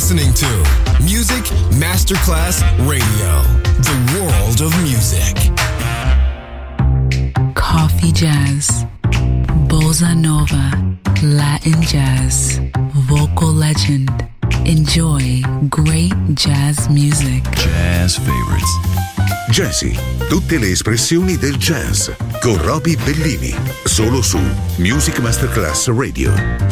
listening to Music Masterclass Radio, the world of music. Coffee jazz, bossa nova, Latin jazz, vocal legend. Enjoy great jazz music. Jazz favorites. Jazzy, tutte le espressioni del jazz con Roby Bellini, solo su Music Masterclass Radio.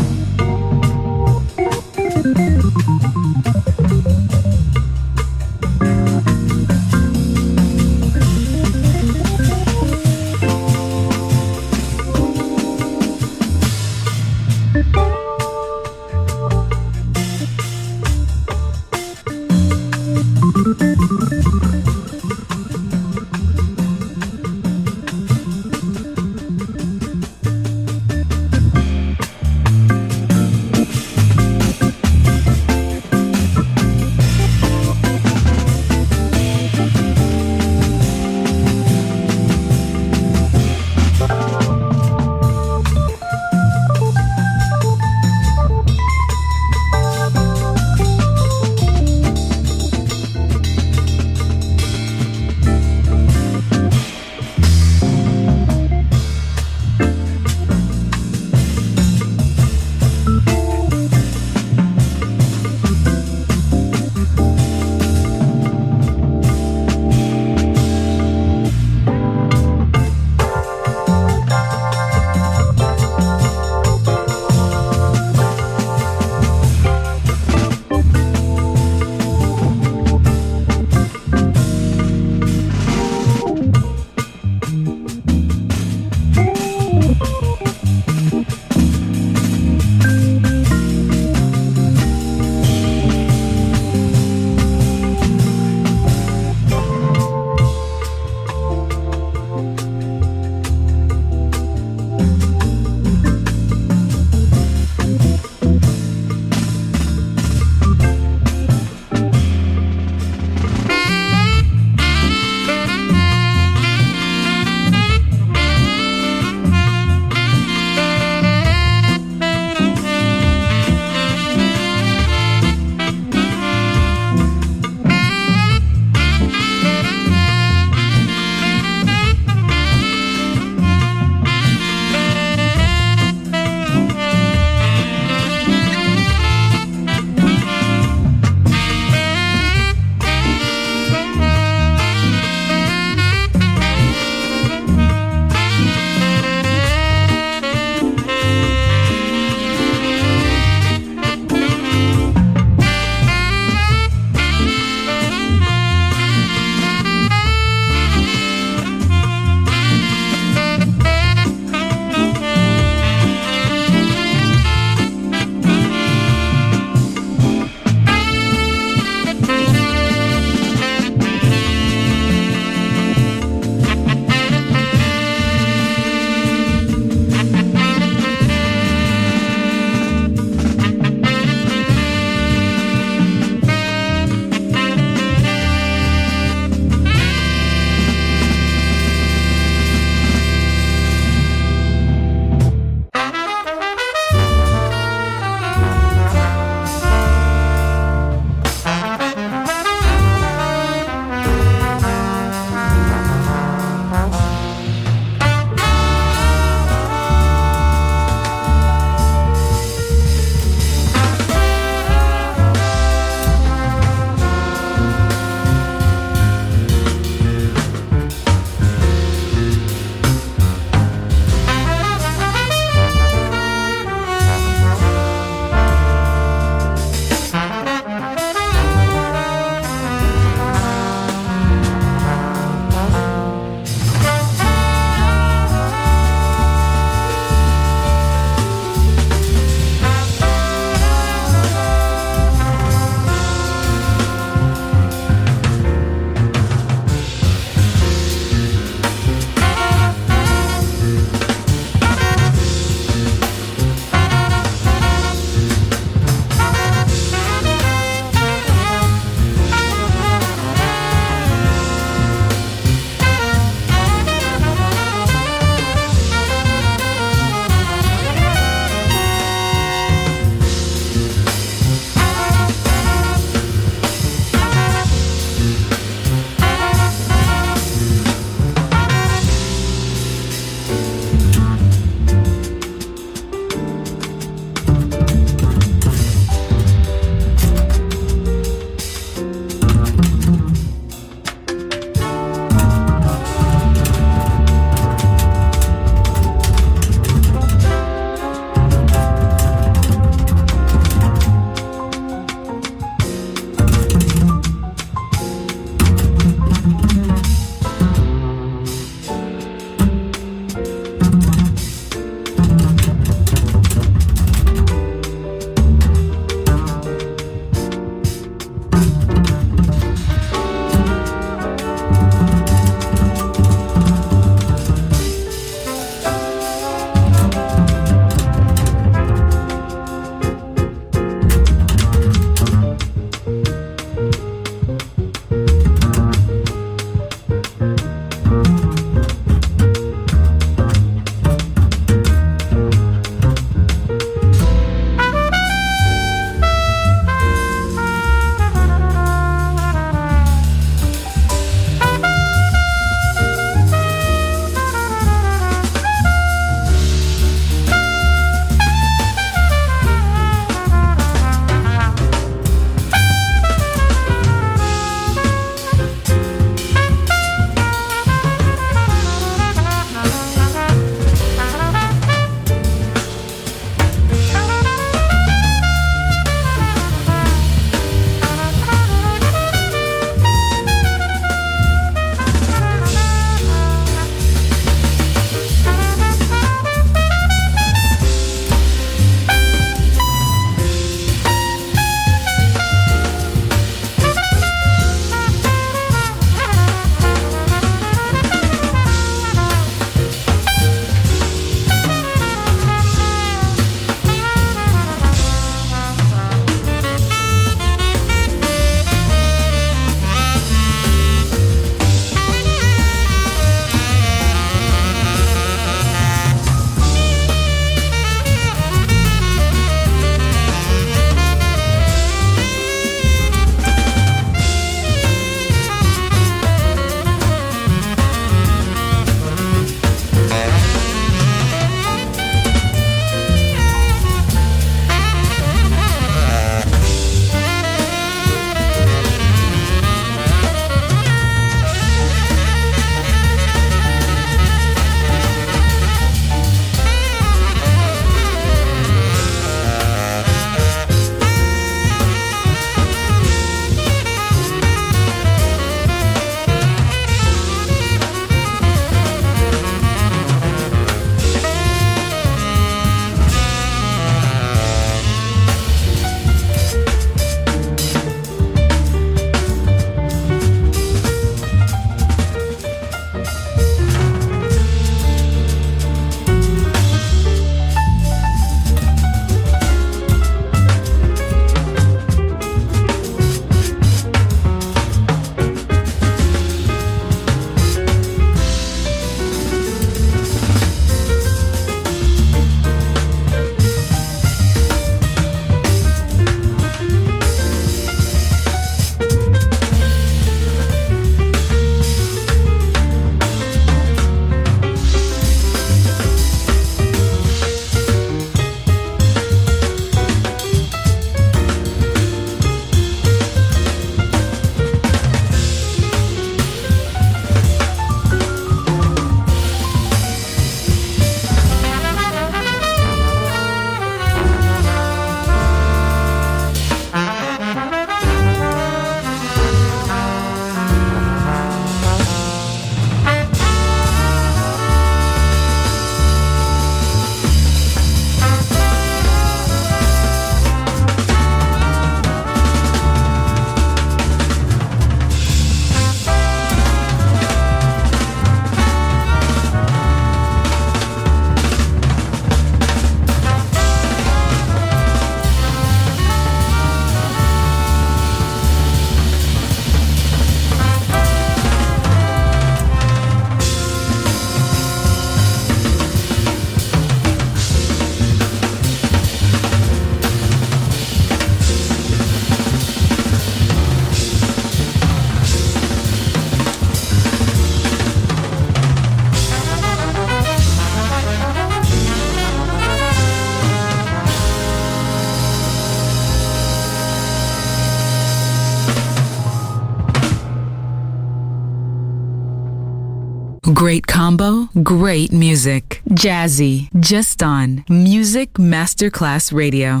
Great combo, great music. Jazzy, just on Music Masterclass Radio.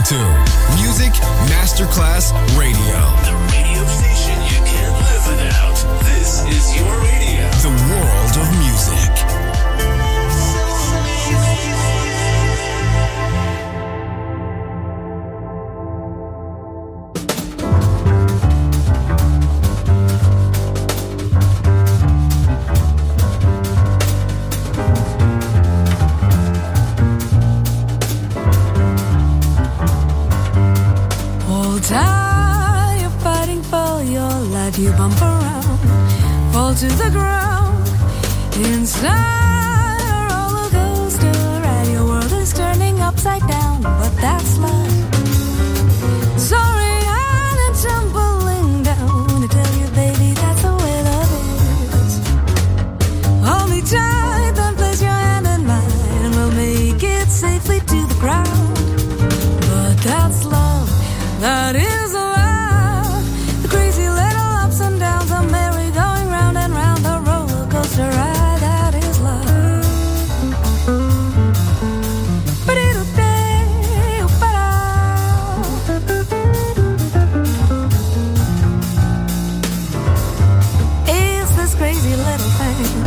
to Music Masterclass Radio. The radio station you can't live without. This is your radio. The world of music. You bump around, fall to the ground, inside a roller coaster, and your world is turning upside down, but that's life. Sorry, I'm tumbling down to tell you, baby, that's the way love is. Hold me tight, then place your hand in mine, and we'll make it safely to the ground. But that's love, that is love. The crazy little ups and downs, a merry going round and round, the roller coaster ride, that is love. It's this crazy little thing.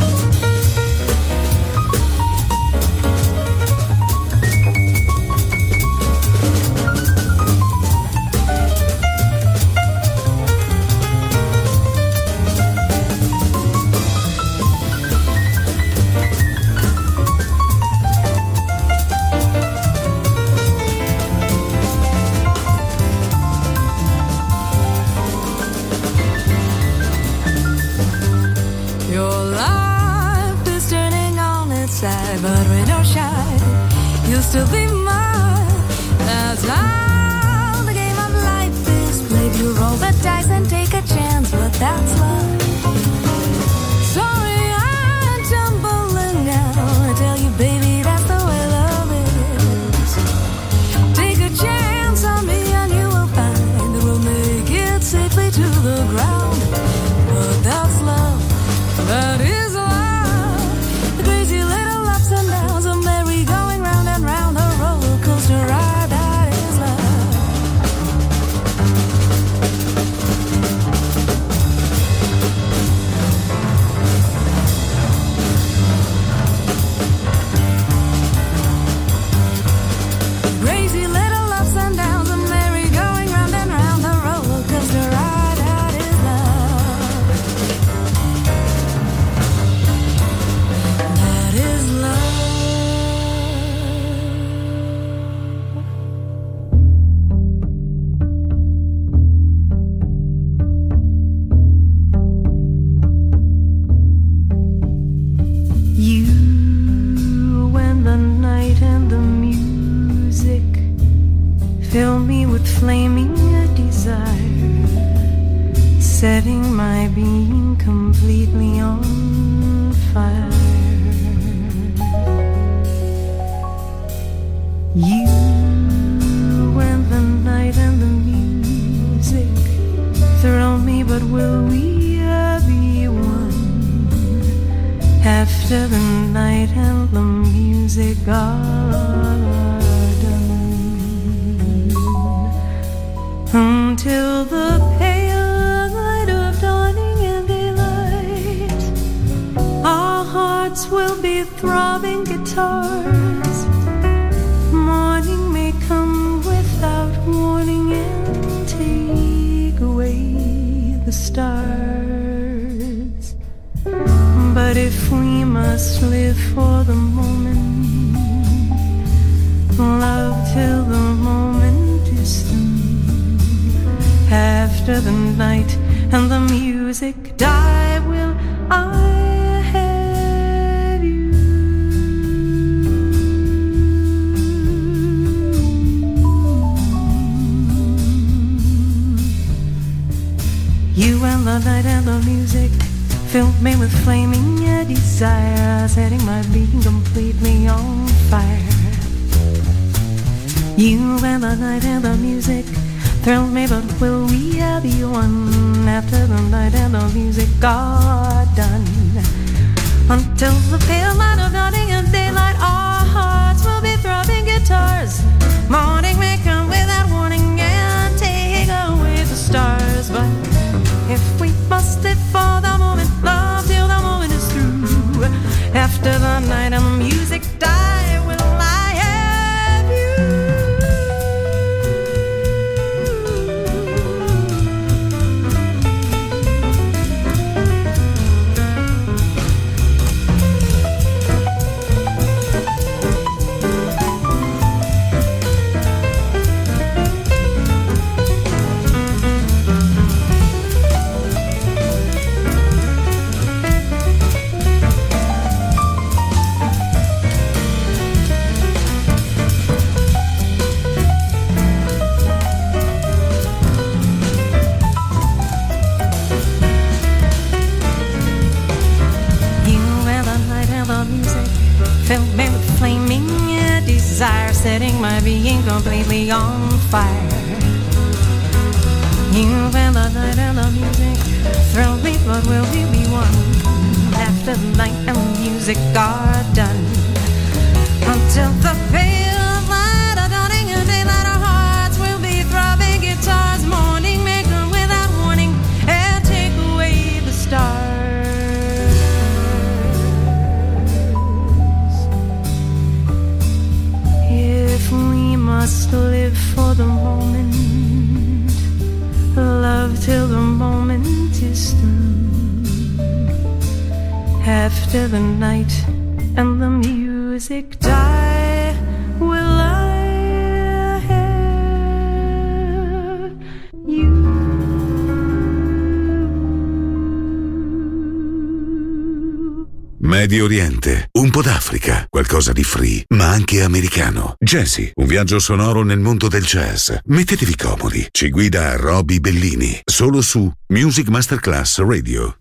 But rain or shine, you'll still be mine. That's how the game of life is played. You roll the dice and take a chance, but that's love. Sorry, I'm tumbling down. I tell you, baby, that's the way love is. Take a chance on me and you will find that we'll make it safely to the ground. But that's love, that is love. The crazy little ups and downs, a merry going round and round, a roller coaster ride, that is love. Crazy little ups and downs, a merry going round and round, a roller coaster ride, that is love. That is love. You and the night and the music fill me with flaming desire, setting my being completely on fire. You and the night and the music thrill me, but will we be one? After the night and the music are done, until the pale light of dawning and daylight, our hearts will be throbbing guitars. Morning may come without warning and take away the stars. But if we must live for the moment, love till the moment is through. After the night and the music die, will I have you? You and the night and the music filled me with flaming desire, setting my being completely on fire. You and the night and the music thrilled me, but will we be one? After the night and the music are done, until the pale light of dawning and daylight, our hearts will be throbbing guitars. Morning may come without But if we must live for the moment, love till the moment is through. After the night and the music die, will I have you? Fill me with flaming desire, setting my being completely on fire. You and the night and the music thrill me, but will we be one after the night and the music are done? Until the pale light of dawning and daylight, our hearts will be throbbing guitars, morning may come without warning and take away the stars. We must live for the moment, love till the moment is through. After the night and the music die, will I have you? Medio Oriente, un po' d'Africa, qualcosa di free, ma anche americano. Jazzy, un viaggio sonoro nel mondo del jazz. Mettetevi comodi, ci guida Roby Bellini, solo su Music Masterclass Radio.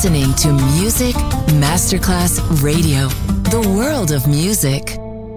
listening to Music Masterclass Radio, the world of music.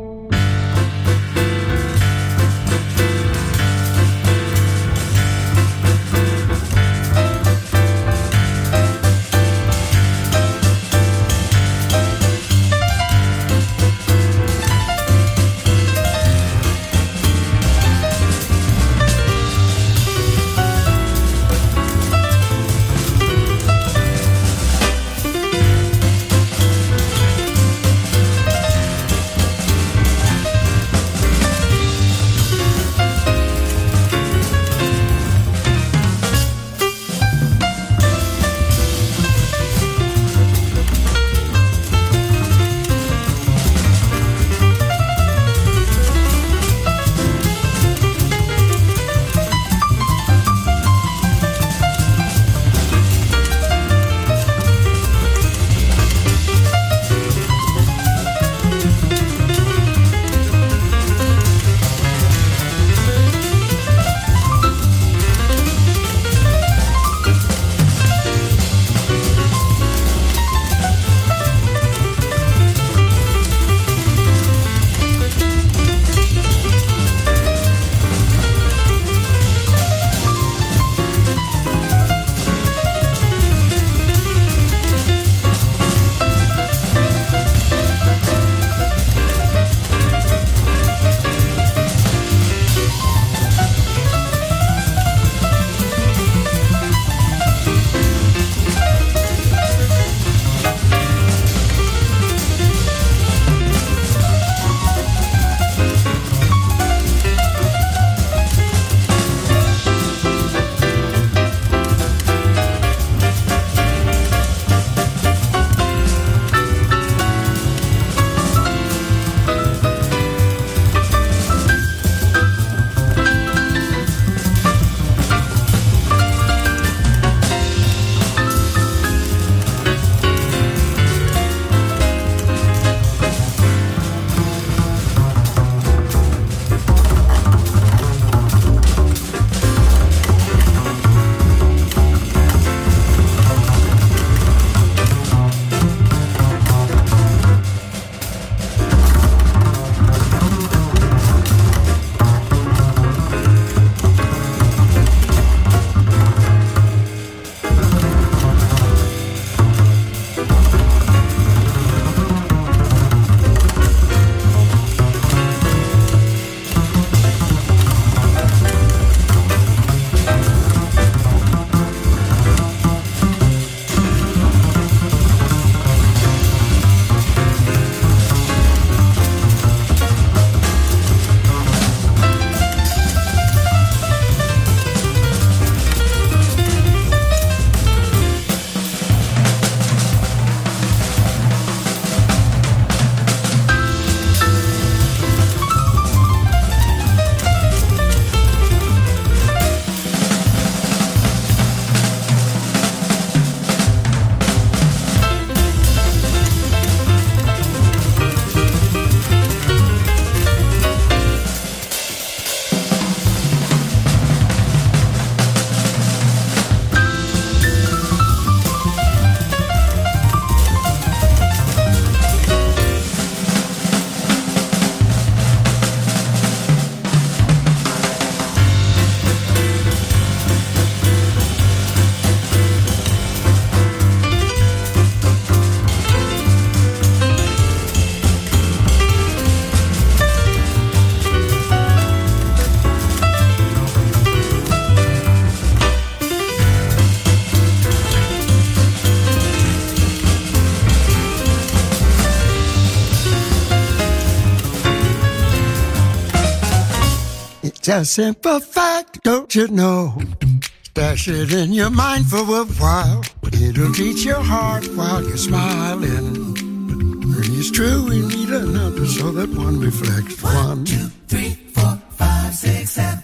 It's a simple fact, don't you know? Stash it in your mind for a while. It'll teach your heart while you're smiling. It's true, we need another so that one reflects one. 1, 2, 3, 4, 5, 6, 7.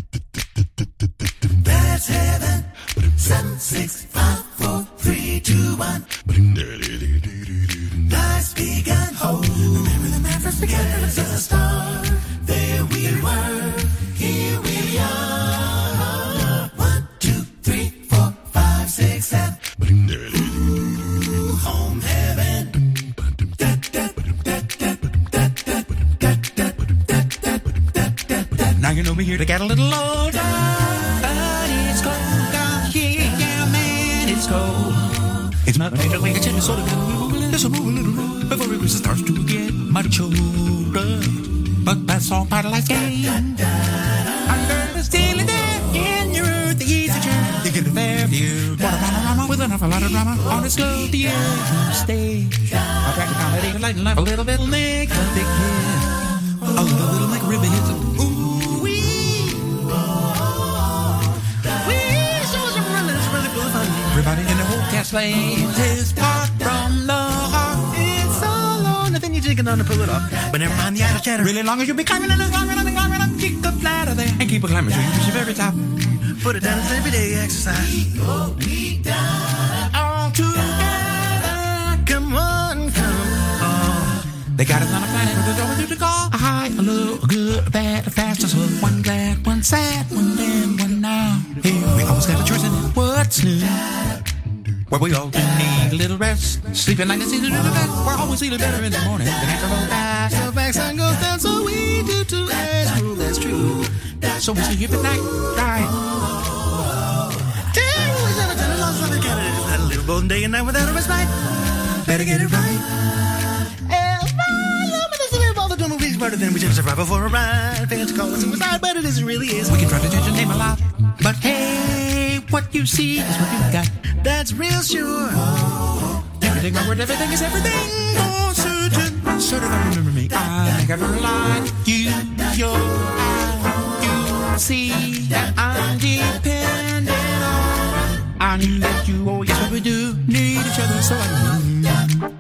That's heaven. 7, 6, 5, 4, 3, 2, 1. Life's begun. Oh, remember the man first began as a star. There we were, here we are. 1, 2, 3, 4, 5, 6, 7. Now you know me here to get a little older, but it's cold down here, yeah, man, it's cold. It's not made to wake a chicken, so let's move a little before it starts to get much older. But that's all part of life's game. Under the ceiling there in your earth, the easy chair, you get a fair view. Water with enough, a lot of drama on its go the edge of stage. I practice comedy, light and life, a little bit lick, a big hit, a little like ribbon hits. Ooh wee, wee, so it's really fun. Everybody in the whole cast plays his part from the heart. It's so long, nothing you can on to pull it off. But never mind the outer chatter. Really long as you be climbing and climbing and climbing up, kick the ladder there and keep a climbing till you reach the very top. Put it down as everyday exercise. All together, come on, come on. They got us on a planet with a door to call. A high, a low, a good, a bad, a fast, a slow. One glad, one sad, one then, one now. Here we always got a choice in it. What's new? Where we all do need a little rest. Sleeping like it's easy to do the best. We're always feeling better in the morning. The natural fast, the back sun goes down, so we do too. That's true, that's true. So we sleep at night, right? Had a little golden day and night without a respite. Better get it right. All the dumb movies better than we should survive before a ride. Fans call it suicide, but it isn't really is. We can try to change the name a lot, but hey, what you see is what you got. That's real sure. Everything, my word, everything is everything. Oh, certain, certain. I remember me. I think I've ever lied. You, your eye, you see that I'm dependent on. I knew that you, oh yes, what we do need each other, so I knew.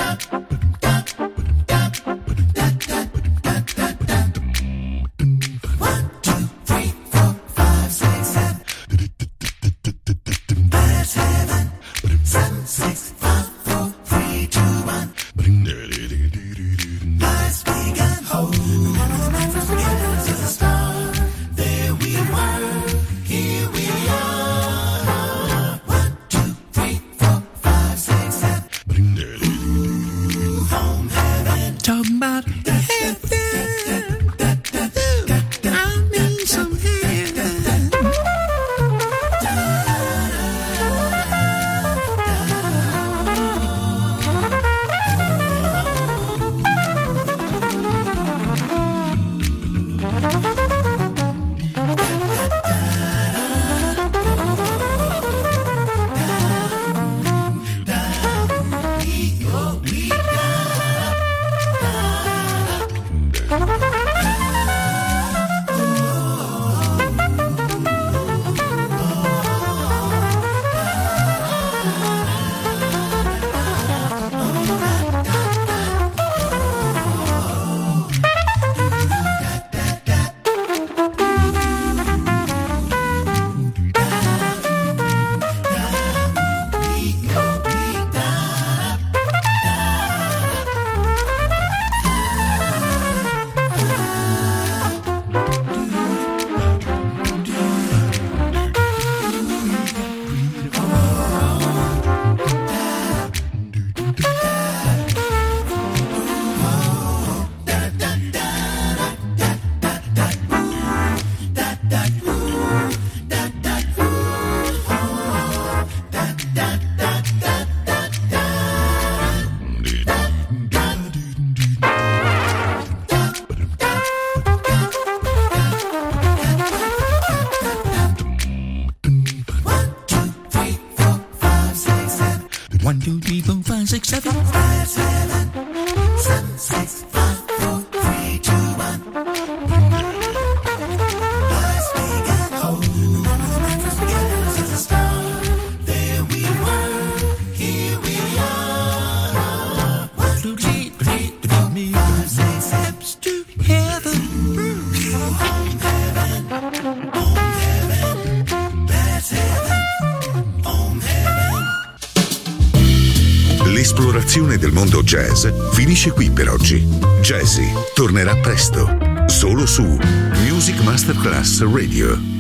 1, 2, 3, 4, 5, 6, 7. That's heaven. 7, 6, 5, 4, 3, 2, 1. Life's begun. From beginning to the start. There we were. Here we are. 1, 2, 3, 4, 5, 6, 7. Home heaven. Talking about heaven. I need some heaven. L'esplorazione del mondo jazz finisce qui per oggi. Jazzy tornerà presto, solo su Music Masterclass Radio.